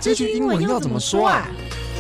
這句英文要怎麼說啊？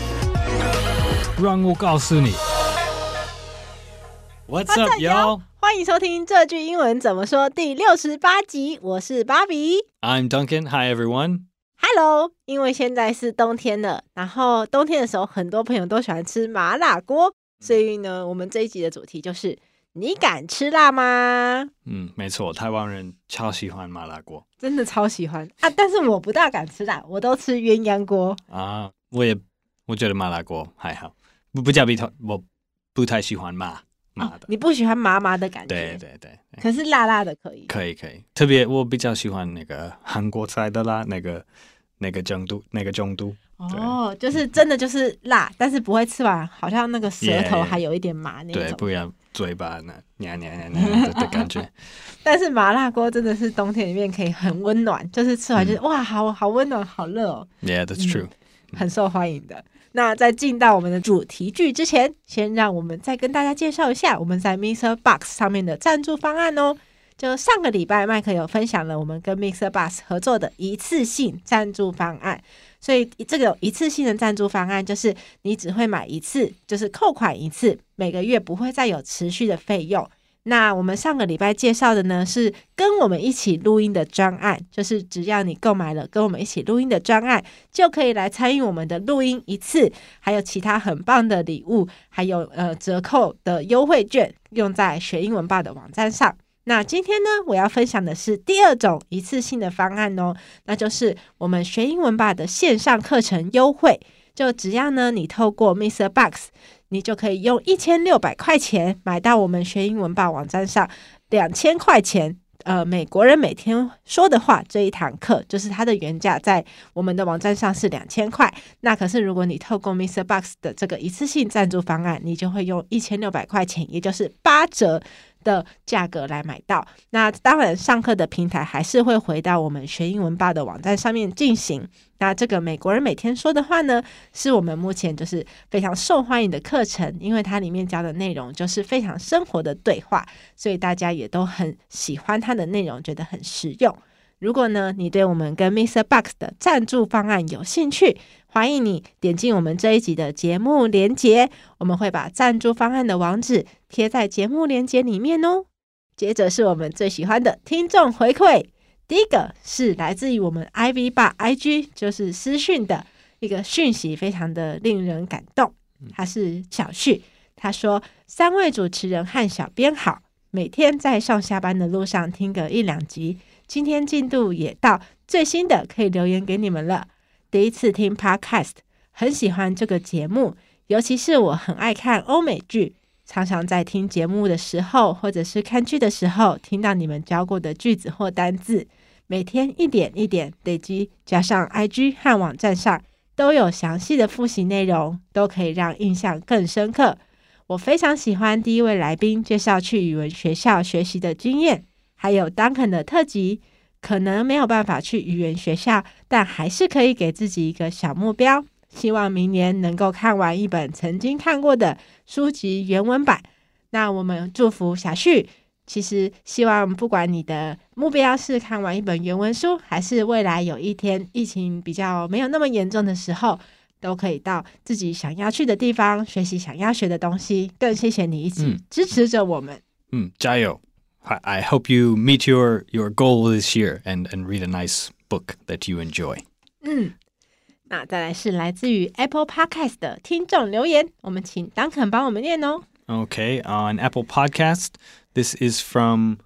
讓我告訴你。What's up, y'all？ 歡迎收聽這句英文怎麼說第68集，我是芭比。 I'm Duncan. Hi, everyone. Hello， 因為現在是冬天了，然後冬天的時候，很多朋友都喜歡吃麻辣鍋，所以呢，我們這一集的主題就是你敢吃辣嗎？ 沒錯，台灣人超喜歡麻辣鍋， 真的超喜歡啊！但是我不大敢吃辣，我都吃鴛鴦鍋啊。我覺得麻辣鍋還好，我不太喜歡麻的。 你不喜歡麻麻的感覺？ 對。 可是辣辣的可以。 可以。特別我比較喜歡那個韓國菜的辣，那個程度。 哦，就是真的就是辣，但是不會吃完，好像那個舌頭還有一點麻那種。 對，不要嘴巴黏的感覺。 但是麻辣鍋真的是冬天裡面可以很溫暖，就是吃完就是哇，好溫暖，好熱哦。 Yeah, that's true. 很受歡迎的。那在進到我們的主題句之前，先讓我們再跟大家介紹一下我們在 MixerBox 上面的贊助方案哦。就上個禮拜麥克有分享了我們跟 MixerBox 合作的一次性贊助方案，所以這個一次性的贊助方案就是你只會買一次，就是扣款一次，每個月不會再有持續的費用。那我們上個禮拜介紹的呢，是跟我們一起錄音的專案，就是只要你購買了跟我們一起錄音的專案，就可以來參與我們的錄音一次，還有其他很棒的禮物，還有折扣的優惠券，用在學英文吧的網站上。那今天呢，我要分享的是第二種一次性的方案哦，那就是我們學英文吧的線上課程優惠。就只要呢，你透過 MixerBox， 你就可以用1600塊錢買到我們學英文吧網站上2000塊錢。美國人每天說的話這一堂課，就是它的原價在我們的網站上是2000塊。那可是如果你透過 MixerBox 的這個一次性贊助方案，你就會用1600塊錢，也就是8折的價格來買到。那當然上課的平台還是會回到我們學英文吧的網站上面進行。那這個美國人每天說的話呢，是我們目前就是非常受歡迎的課程，因為它裡面教的內容就是非常生活的對話，所以大家也都很喜歡它的內容，覺得很實用。如果呢，你對我們跟 MixerBox 的贊助方案有興趣，歡迎你點進我們這一集的節目連結，我們會把贊助方案的網址貼在節目連結裡面哦。接着是我們最喜歡的聽眾回饋，第一個是來自於我們 Ivy 吧 IG， 就是私訊的一個訊息，非常的令人感動。他是小旭，他說：3位主持人和小編好，每天在上下班的路上聽個1-2集。今天進度也到最新的可以留言給你們了。第一次聽 Podcast， 很喜歡這個節目，尤其是我很愛看歐美劇，常常在聽節目的時候或者是看劇的時候聽到你們教過的句子或單字，每天一點一點累積，加上 IG 和網站上都有詳細的複習內容，都可以讓印象更深刻。我非常喜歡第一位來賓介紹去語文學校學習的經驗，還有 Duncan 的特輯，可能沒有辦法去語言學校，但還是可以給自己一個小目標，希望明年能夠看完一本曾經看過的書籍原文版。那我們祝福小旭，其實希望不管你的目標是看完一本原文書，還是未來有一天疫情比較沒有那麼嚴重的時候，都可以到自己想要去的地方學習想要學的東西。更謝謝你一直支持着我們。 加油！I hope you meet your goal this year and read a nice book that you enjoy. 那再來是來自於 Apple Podcast 的聽眾留言，我們請 Duncan 幫我們念哦。 Okay, on Apple Podcast, this is from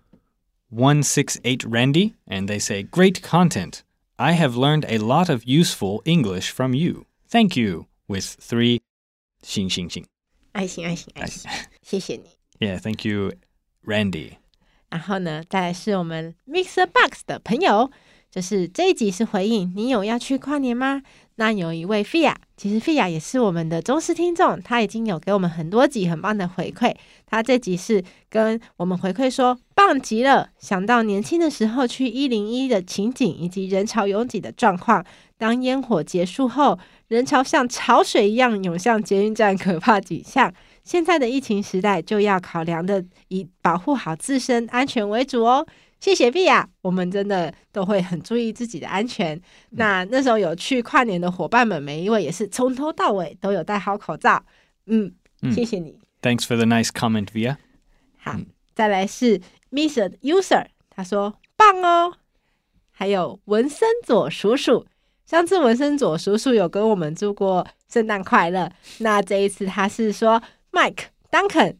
168 Randy, and they say, Great content. I have learned a lot of useful English from you. Thank you, with 3星星星。愛心， 謝謝你。 Yeah, thank you, Randy. 然後呢，再來是我們 MixerBox 的朋友，就是這一集是回應你有要去跨年嗎？那有一位 Fia， 其實 Fia 也是我們的忠實聽眾，他已經有給我們很多集很棒的回饋。他這集是跟我們回饋說棒極了，想到年輕的時候去101的情景以及人潮擁擠的狀況，當煙火結束後，人潮像潮水一樣湧向捷運站，可怕景象。現在的疫情時代，就要考量的以保護好自身安全為主哦。 謝謝 Via， 我們真的都會很注意自己的安全。那時候有去跨年的夥伴們，每一位也是從頭到尾都有戴好口罩。謝謝你。 Thanks for the nice comment, Via. 好，再來是 Mr. User， 他說棒哦。還有文森佐叔叔，上次文森佐叔叔有跟我們祝過聖誕快樂，那這一次他是說 Mike Duncan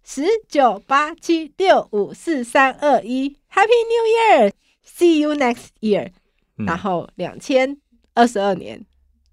1098765431 Happy New Year See you next year 然後2022年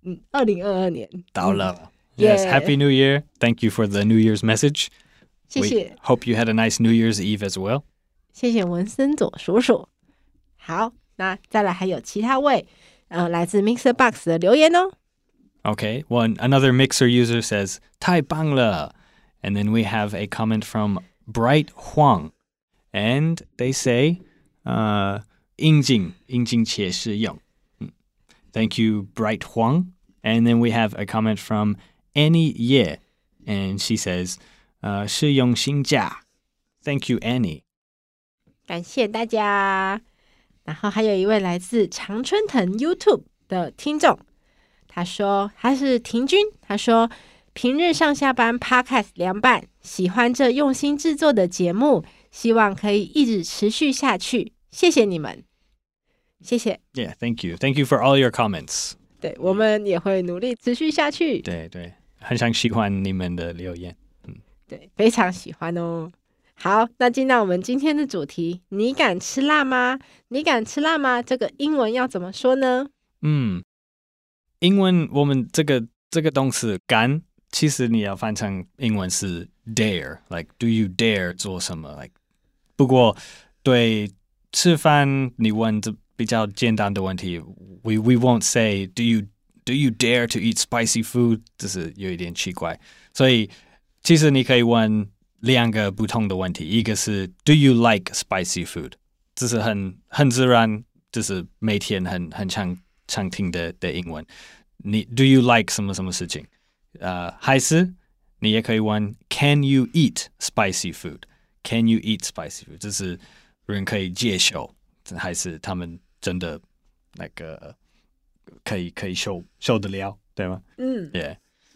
2022年到了Yes, Happy New Year. Thank you for the New Year's message. 謝謝 We hope you had a nice New Year's Eve as well. 謝謝文森佐叔叔。好，那再來還有其他位來自 Mixer Box 的留言哦。 Okay, another Mixer user says 太棒了 and then we have a comment from Bright Huang and they say 应景且实用。Thank you, Bright Huang. And then we have a comment from Annie Ye, and she says 实用性价。Thank you, Annie. 感謝大家。然後還有一位來自常春藤 YouTube 的聽眾，他說他是庭君，他說平日上下班 Podcast 涼拌，喜歡這用心制作的節目，希望可以一直持續下去。謝謝你們，謝謝。 Yeah, thank you. Thank you for all your comments. 對，我們也會努力持續下去。 對，很想喜歡你們的留言。 對，非常喜歡哦。好，那進到我們今天的主題，你敢吃辣嗎？你敢吃辣嗎？這個英文要怎麼說呢？ 英文我們這個動詞敢，其實你要翻成英文是 dare，like do you dare 做什麼 ？like 不過對吃飯你問這比較簡單的問題 ，we won't say do you dare to eat spicy food， 這是有一點奇怪，所以其實你可以問兩個不同的問題，一個是 Do you like spicy food？ 這是很自然，這是每天很常聽的英文。你 Do you like 什麼什麼事情？還是你也可以問 Can you eat spicy food？Can you eat spicy food？ 這是人可以接受，還是他們真的那個可以受得了，對嗎？Yeah.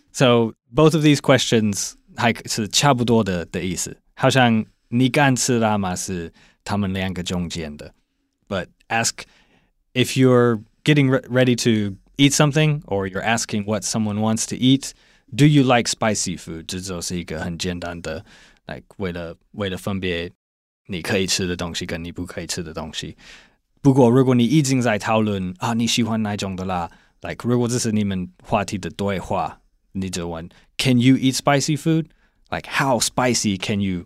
So both of these questions 還是差不多的意思，好像你敢吃辣嗎是他們兩個中間的。But ask if you're getting ready to eat something or you're asking what someone wants to eat, do you like spicy food? 這就是一個很簡單的 like 為了分別你可以吃的東西跟你不可以吃的東西。不過如果你已經在討論你喜歡哪種的辣 like 如果這是你們話題的對話，你就問 Can you eat spicy food? Like how spicy can you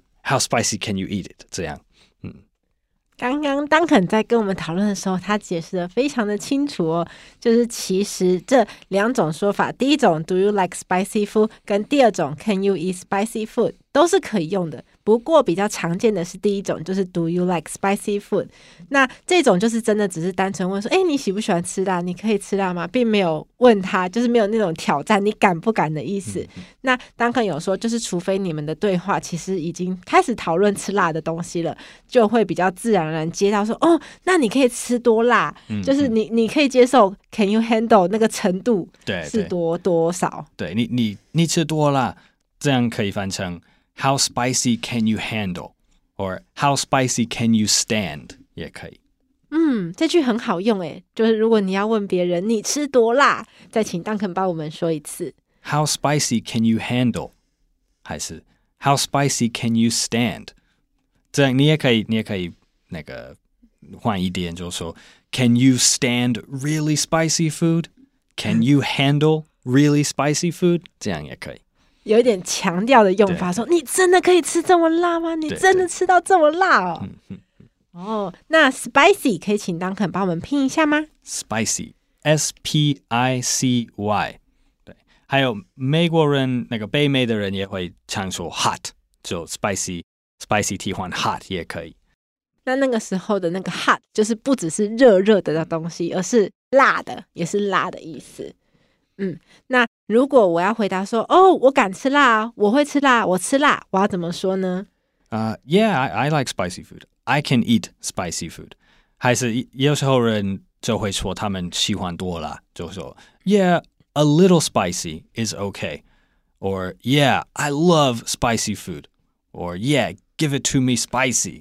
eat it? 這樣。 剛剛Duncan在跟我們討論的時候，他解釋得非常的清楚哦，就是其實這兩種說法，第一種 Do you like spicy food 跟第二種 Can you eat spicy food 都是可以用的，不過比較常見的是第一種，就是 Do you like spicy food？ 那這種就是真的只是單純問說你喜不喜歡吃辣？你可以吃辣嗎？並沒有問他，就是沒有那種挑戰你敢不敢的意思。那Duncan有說，就是除非你們的對話其實已經開始討論吃辣的東西了，就會比較自然而然接到說那你可以吃多辣？就是你可以接受 Can you handle 那個程度是多少？ 對，你吃多辣，這樣可以翻成How spicy can you handle? Or how spicy can you stand? 也可以。 這句很好用誒，就是如果你要問別人你吃多辣，再請Duncan幫我們說一次。 How spicy can you handle? 還是 How spicy can you stand? 這樣你也可以那個換一點，就是說 Can you stand really spicy food? Can you handle really spicy food? 這樣也可以。 有一點強調的用法，說你真的可以吃這麼辣嗎？你真的吃到這麼辣哦？那 spicy 可以請Duncan幫我們拼一下嗎？ Spicy S-P-I-C-Y 對，還有美國人那個北美的人也會常說 hot， 就 spicy 替換 hot 也可以。 那個時候的那個 hot 就是不只是熱的東西，而是辣的，也是辣的意思。那如果我要回答說我敢吃辣，我會吃辣，我吃辣，我要怎麼說呢？ Yeah, I like spicy food. I can eat spicy food. 還是有時候人就會說他們喜歡多辣，就說 Yeah, a little spicy is okay. Or yeah, I love spicy food. Or yeah, give it to me spicy.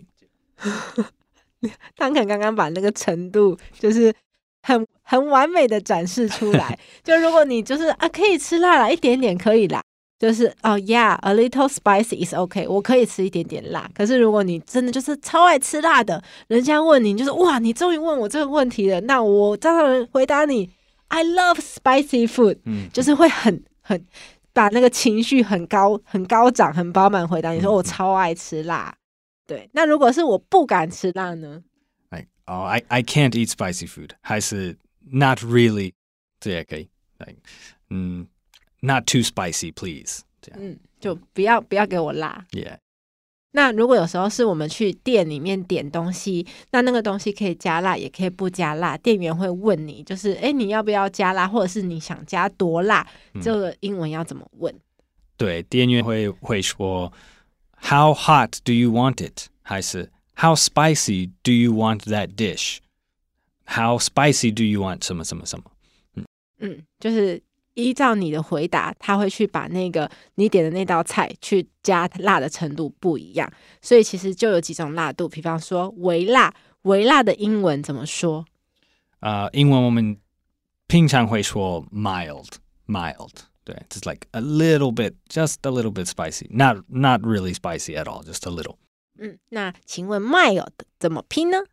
他刚剛把那個程度就是很完美的展示出來。就如果你就是可以吃辣啦，一點點可以啦。就是yeah, a little spicy is okay. 我可以吃一點點辣。可是如果你真的就是超愛吃辣的，人家問你就是哇，你終於問我這個問題了，那我當然回答你 I love spicy food。就是會很把那個情緒很高漲很飽滿回答你說我超愛吃辣。對，那如果是我不敢吃辣呢？ I can't eat spicy food. 還是 not really. 這也可以。Not too spicy, please. 就不要給我辣。 Yeah. 那如果有時候是我們去店裡面點東西，那個東西可以加辣，也可以不加辣。店員會問你，就是你要不要加辣，或者是你想加多辣？這個英文要怎麼問？ 對，店員會說 How hot do you want it? 還是 How spicy do you want that dish? How spicy do you want 什麼什麼什麼？ 就是依照你的回答，他會去把那個你點的那道菜去加辣的程度不一樣，所以其實就有幾種辣度，比方說微辣，微辣的英文怎麼說？ 英文我們平常會說 mild， 對， just like a little bit, just a little bit spicy, not really spicy at all, just a little. 那請問 mild 怎麼拼呢？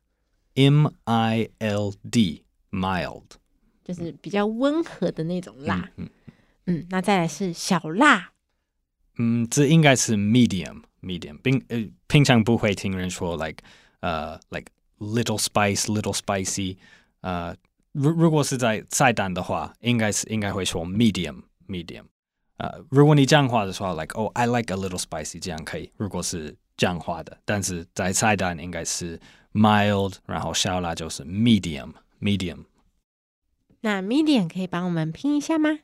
M-I-L-D, mild. 就是比較溫和的那種辣。那再來是小辣。 這應該是 medium. 平常不會聽人說 like little spice, little spicy. 如果是在菜單的話，應該會說 medium. 如果你講話的時候 like I like a little spicy 這樣可以。如果是講話的，但是在菜單應該是 mild， 然後小辣就是 medium. 那 medium 可以幫我們拼一下嗎？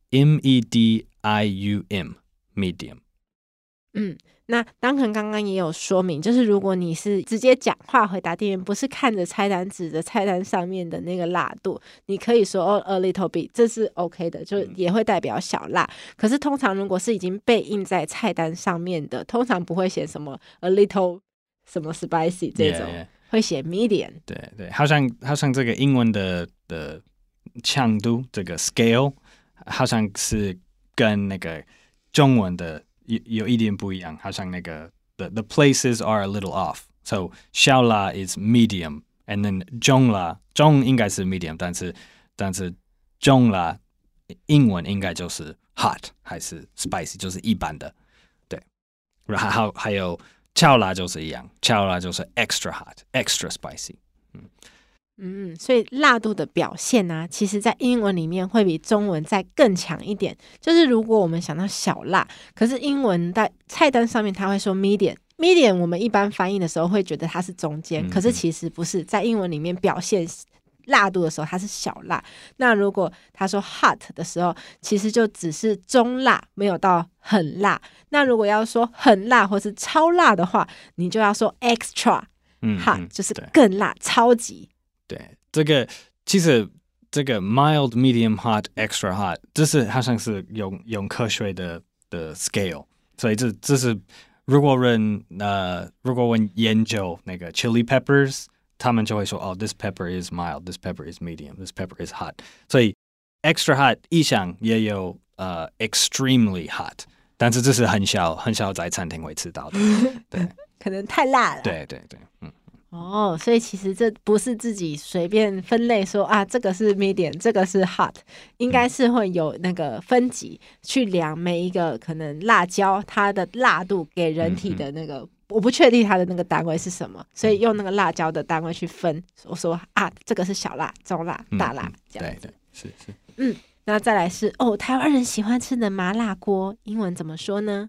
M-E-D-I-U-M medium。 那Duncan剛剛也有說明，就是如果你是直接講話回答店員，不是看着菜單指着菜單上面的那個辣度，你可以說a little bit， 這是 OK 的，就也會代表小辣。可是通常如果是已經被印在菜單上面的，通常不會寫什麼 a little 什麼 spicy 這種，會寫 medium。 對，好像這個英文的強度這個 scale 好像是跟那個中文的有一點不一樣，好像那個 the places are a little off. So 小辣 is medium, and then 中辣應該是 medium， 但是中辣英文應該就是 hot 還是 spicy， 就是一般的。對，然後還有超辣就是一樣，超辣就是 extra hot, extra spicy。 所以辣度的表現啊，其實在英文裡面會比中文再更強一點。就是如果我們想到小辣，可是英文在菜單上面它會說 medium， 我們一般翻譯的時候會覺得它是中間，可是其實不是，在英文裡面表現辣度的時候它是小辣。那如果他說 hot 的時候，其實就只是中辣，沒有到很辣。那如果要說很辣或是超辣的話，你就要說 extra hot，就是更辣，超級。 對，這個其實這個 mild, medium, hot, extra hot， 這是好像是用科學的 scale， 所以這是如果我研究那個 chili peppers， 他們就會說this pepper is mild, this pepper is medium, this pepper is hot。所以 extra hot 以上也有extremely hot， 但是這是很少在餐廳會吃到的。對， 可能太辣了。 對， 所以其實這不是自己隨便分類說這個是 medium， 這個是 hot， 應該是會有那個分級去量每一個可能辣椒它的辣度給人體的那個，我不確定它的那個單位是什麼，所以用那個辣椒的單位去分，我說這個是小辣、中辣、大辣這樣子。 對，是。 那再來是台灣人喜歡吃的麻辣鍋，英文怎麼說呢？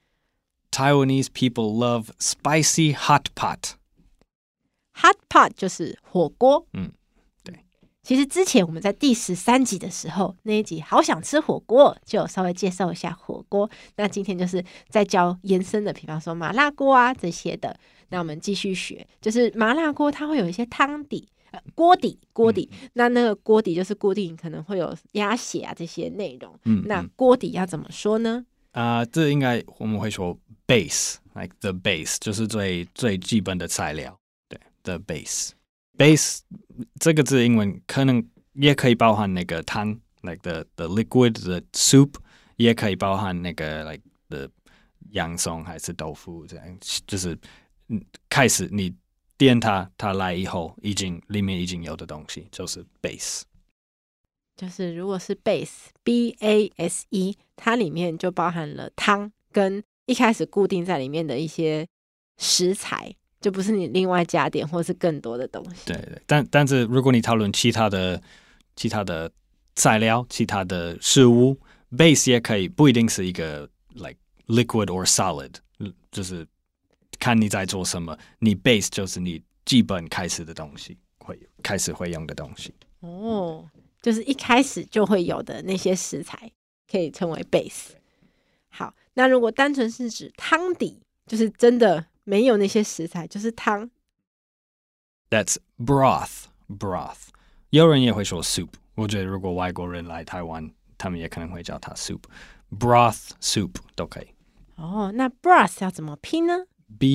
Taiwanese people love spicy hot pot。 Hot pot 就是火鍋。 對。 其實之前我們在第13集的時候，那一集好想吃火鍋，就有稍微介紹一下火鍋。那今天就是在教延伸的，比方說麻辣鍋啊這些的。那我們繼續學，就是麻辣鍋它會有一些湯底。鍋底，那個鍋底就是固定，可能會有鴨血啊這些內容。那鍋底要怎麼說呢？ 這應該我們會說 base，like the base， 就是最基本的材料。對 ，the base 這個字英文可能也可以包含那個湯 ，like the liquid the soup， 也可以包含那個 like the 洋蔥還是豆腐這樣，就是開始你。點它來以後，裡面已經有的東西就是 base， 就是如果是 base， 它裡面就包含了湯跟一開始固定在裡面的一些食材，就不是你另外加點或是更多的東西。 对，但是如果你討論其他的材料、其他的食物 ，base 也可以不一定是一個 like liquid or solid， 就是。看你在做什麼，你 base 就是你基本開始的東西，開始會用的東西。 哦，就是一開始就會有的那些食材，可以稱為 base。好，那如果單純是指湯底，就是真的沒有那些食材，就是湯。 That's broth。有人也會說 soup。我覺得如果外國人來台灣，他們也可能會叫它 soup。broth soup 都可以。 哦，那 broth 要怎麼拼呢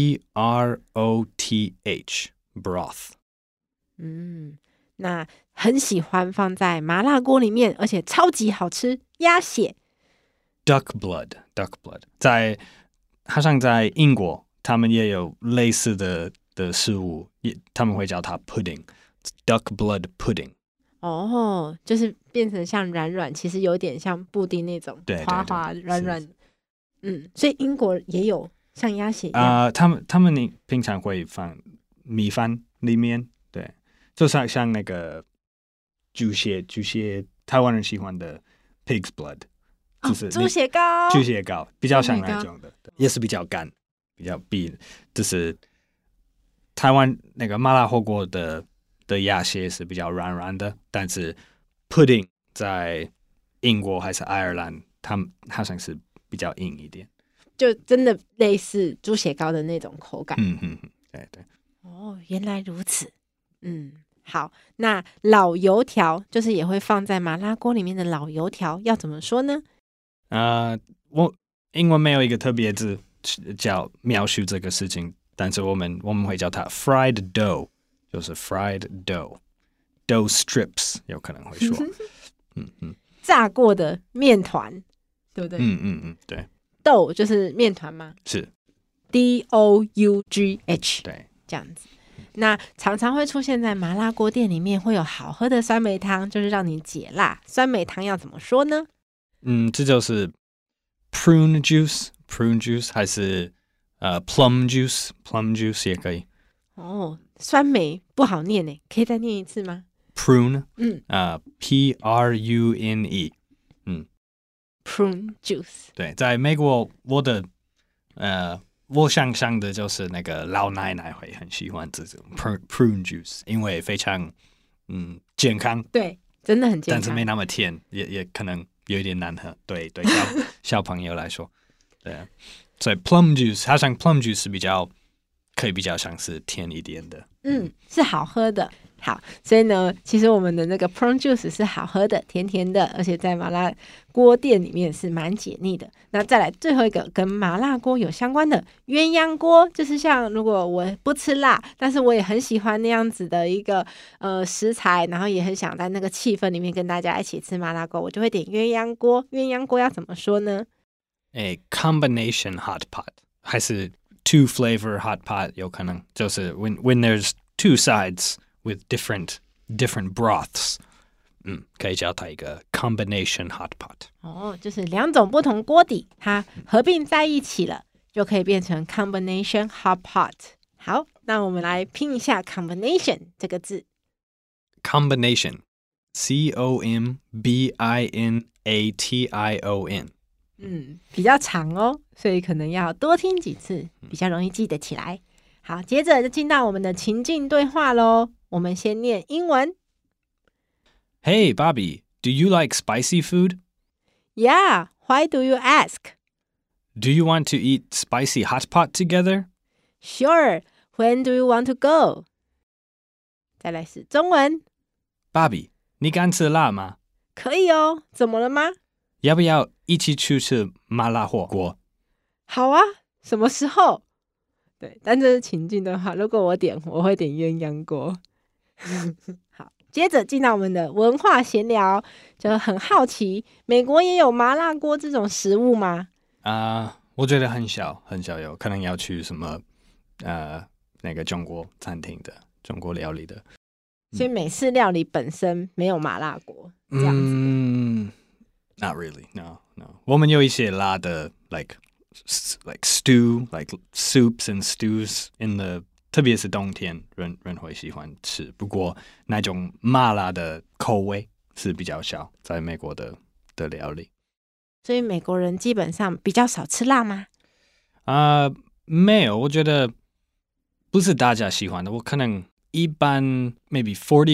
？broth broth。 那很喜歡放在麻辣鍋裡面，而且超級好吃，鴨血。 duck blood。好像在英國，他們也有類似的食物，他們會叫它 pudding。duck blood pudding。 哦，就是變成像軟軟，其實有點像布丁那種滑滑軟軟。所以英國也有。像鴨血一樣他們平常會放米飯裡面，對，就像那個豬血，台灣人喜歡的 pig's blood， 就是豬血糕，比較像那種的，也是比較乾，就是台灣那個麻辣火鍋的鴨血是比較軟軟的，但是 pudding 在英國還是愛爾蘭，他們好像是比較硬一點。 就真的類似豬血糕的那種口感。 對。 哦，原來如此。好，那老油條就是也會放在麻辣鍋裡面的老油條，要怎麼說呢？ 我英文沒有一個特別字叫描述這個事情，但是我們會叫它 fried dough， 就是 fried dough strips 有可能會說。 炸過的麵團，對不對？ 對。 豆就是麵團嗎？ 是 DOUGH， 對， 這樣子。那常常會出現在麻辣鍋店裡面，會有好喝的酸梅湯，就是讓你解辣。酸梅湯要怎麼說呢？ 這就是 prune juice 還是plum juice 也可以。 哦，酸梅不好念耶，可以再念一次嗎？ prune，PRUNE。 prune juice。 對，在美國，我想象的就是那個老奶奶會很喜歡這種 prune juice， 因為非常健康。 對，真的很健康， 但是沒那麼甜，也可能有一點難喝。對小朋友來說，對，所以 plum juice 好像 plum juice 是可以比較像是甜一點的。 是好喝的。好，所以呢，其實我們的那個 prune juice 是好喝的，甜甜的，而且在麻辣鍋店裡面是蠻解膩的。那再來最後一個跟麻辣鍋有相關的鴛鴦鍋，就是像如果我不吃辣，但是我也很喜歡那樣子的一個食材，然後也很想在那個氣氛裡面跟大家一起吃麻辣鍋，我就會點鴛鴦鍋。鴛鴦鍋要怎麼說呢 ？A combination hot pot 還是 two flavor hot pot 有可能，就是 when there's two sides。With different broths， 可以叫它一個 combination hot pot。 就是兩種不同鍋底，它合併在一起了，就可以變成 combination hot pot。好，那我們來拼一下 combination 這個字。 combination COMBINATION。 比較長哦，所以可能要多聽幾次，比較容易記得起來。好，接着就進到我們的情境對話咯。我們先念英文。 Hey, Bobby, do you like spicy food? Yeah, why do you ask? Do you want to eat spicy hot pot together? Sure, when do you want to go? 再来是中文。 Bobby, 你敢吃辣嗎？ 可以哦，怎麼了嗎？ 要不要一起去吃麻辣火鍋？ 好啊，什麼時候？對，但這是情境的話，如果我點，我會點鴛鴦鍋。好，接着進到我們的文化閒聊，就很好奇，美國也有麻辣鍋這種食物嗎？ 我覺得很少有，可能要去什麼那個中國餐廳的中國料理的。 所以美式料理本身沒有麻辣鍋這樣子。 Not really, no. 我們有一些辣的 like stew, like soups and stews in the 特別是冬天人會喜歡吃，不過那種麻辣的口味是比較少在美國的料理。 所以美國人基本上比較少吃辣嗎？ 沒有，我覺得不是大家喜歡的。我可能一般 maybe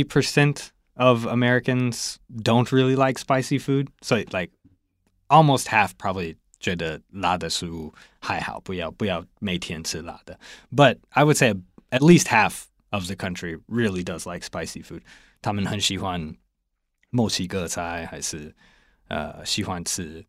40% of Americans don't really like spicy food. So like almost half probably 覺得辣的食物還好，不要每天吃辣的。But I would say at least half of the country really does like spicy food. 他們很喜歡墨西哥菜，還是喜歡吃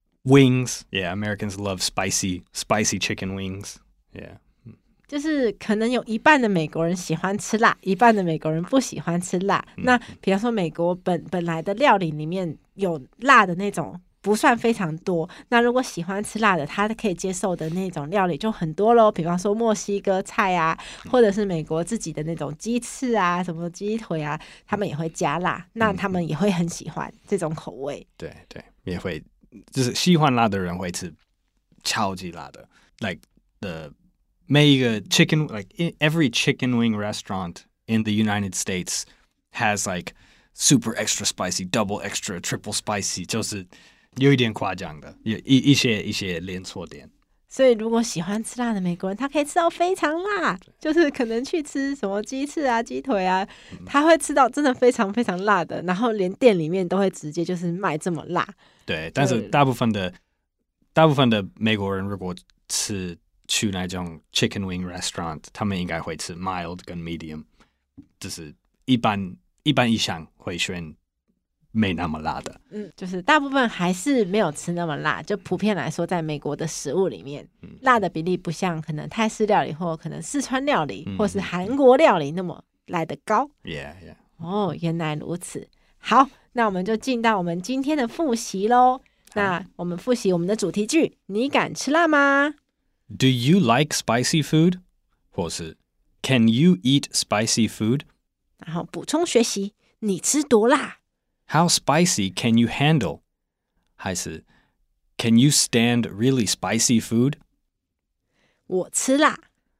wings. Yeah, Americans love spicy chicken wings. Yeah. 就是可能有一半的美國人喜歡吃辣，一半的美國人不喜歡吃辣。那比方說美國本來的料理裡面有辣的那種不算非常多，那如果喜歡吃辣的，他可以接受的那種料理就很多咯，比方說墨西哥菜啊，或者是美國自己的那種雞翅啊，什麼雞腿啊，他們也會加辣，那他們也會很喜歡這種口味。 對，也會，就是喜歡辣的人會吃超級辣的 ，like the 每一個 chicken, like every chicken wing restaurant in the United States has like super extra spicy, double extra, triple spicy, 就是有一點誇張的，一些連鎖店。 所以如果喜歡吃辣的美國人，他可以吃到非常辣，就是可能去吃什麼雞翅啊、雞腿啊，他會吃到真的非常非常辣的，然後連店裡面都會直接就是賣這麼辣。 對，但是大部分的美國人如果去那種 chicken wing restaurant， 他們應該會吃 mild 跟 medium， 就是一般以上會選沒那麼辣的。 就是大部分還是沒有吃那麼辣，就普遍來說，在美國的食物裡面，辣的比例不像可能泰式料理或可能四川料理，或是韓國料理那麼來得高。 Yeah. 哦，原來如此。好，那我們就進到我們今天的複習咯。那我們複習我們的主題句，你敢吃辣嗎？ Do you like spicy food? 或是 Can you eat spicy food? 然後補充學習，你吃多辣？ How spicy can you handle? 還是 Can you stand really spicy food? 我吃辣。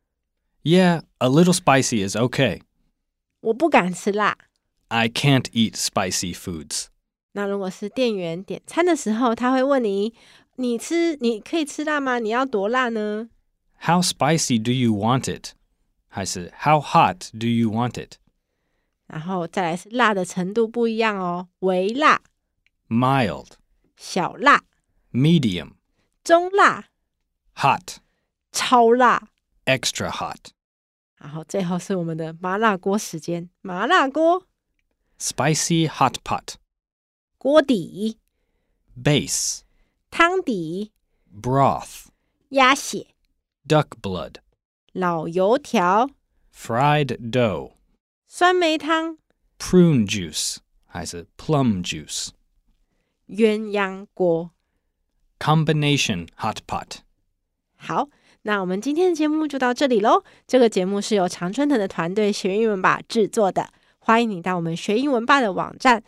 Yeah, a little spicy is okay. 我不敢吃辣。 I can't eat spicy foods. 那如果是店員點餐的時候，他會問你可以吃辣嗎？你要多辣呢？ How spicy do you want it? 還是 How hot do you want it? 然後再來是辣的程度不一樣哦，微辣、 Mild, 小辣、 medium, 中辣、 hot, 超辣、 extra hot. 然後最後是我們的麻辣鍋時間，麻辣鍋、 Spicy hot pot, 鍋底、 base, 湯底、 broth, 鴨血、 duck blood, 老油條、 fried dough, 酸梅湯、 prune juice, 還是 plum juice, 鴛鴦鍋。 combination hot pot. 好，那我們今天的節目就到這裡咯。這個節目是由常春藤的團隊學英文吧製作的，歡迎你到我們學英文吧的網站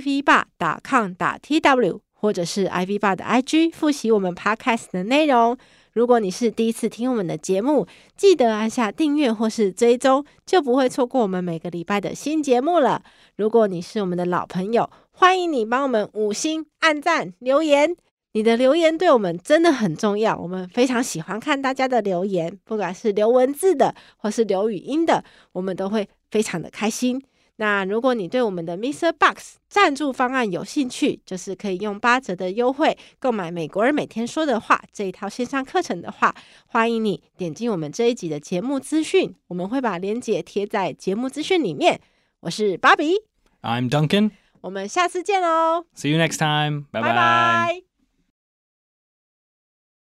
ivbar.com.tw 或者是 ivbar 的 IG 複習我們 podcast 的內容。如果你是第一次聽我們的節目，記得按下訂閱或是追蹤，就不會錯過我們每個禮拜的新節目了。如果你是我們的老朋友，歡迎你幫我們5星按讚留言，你的留言對我們真的很重要，我們非常喜歡看大家的留言，不管是留文字的或是留語音的，我們都會非常的開心。 那如果你對我們的 MixerBox 贊助方案有興趣，就是可以用8折的優惠購買美國人每天說的話這一套線上課程的話，歡迎你點進我們這一集的節目資訊，我們會把鏈接貼在節目資訊裡面。我是芭比， I'm Duncan， 我們下次見哦。 See you next time， 拜拜。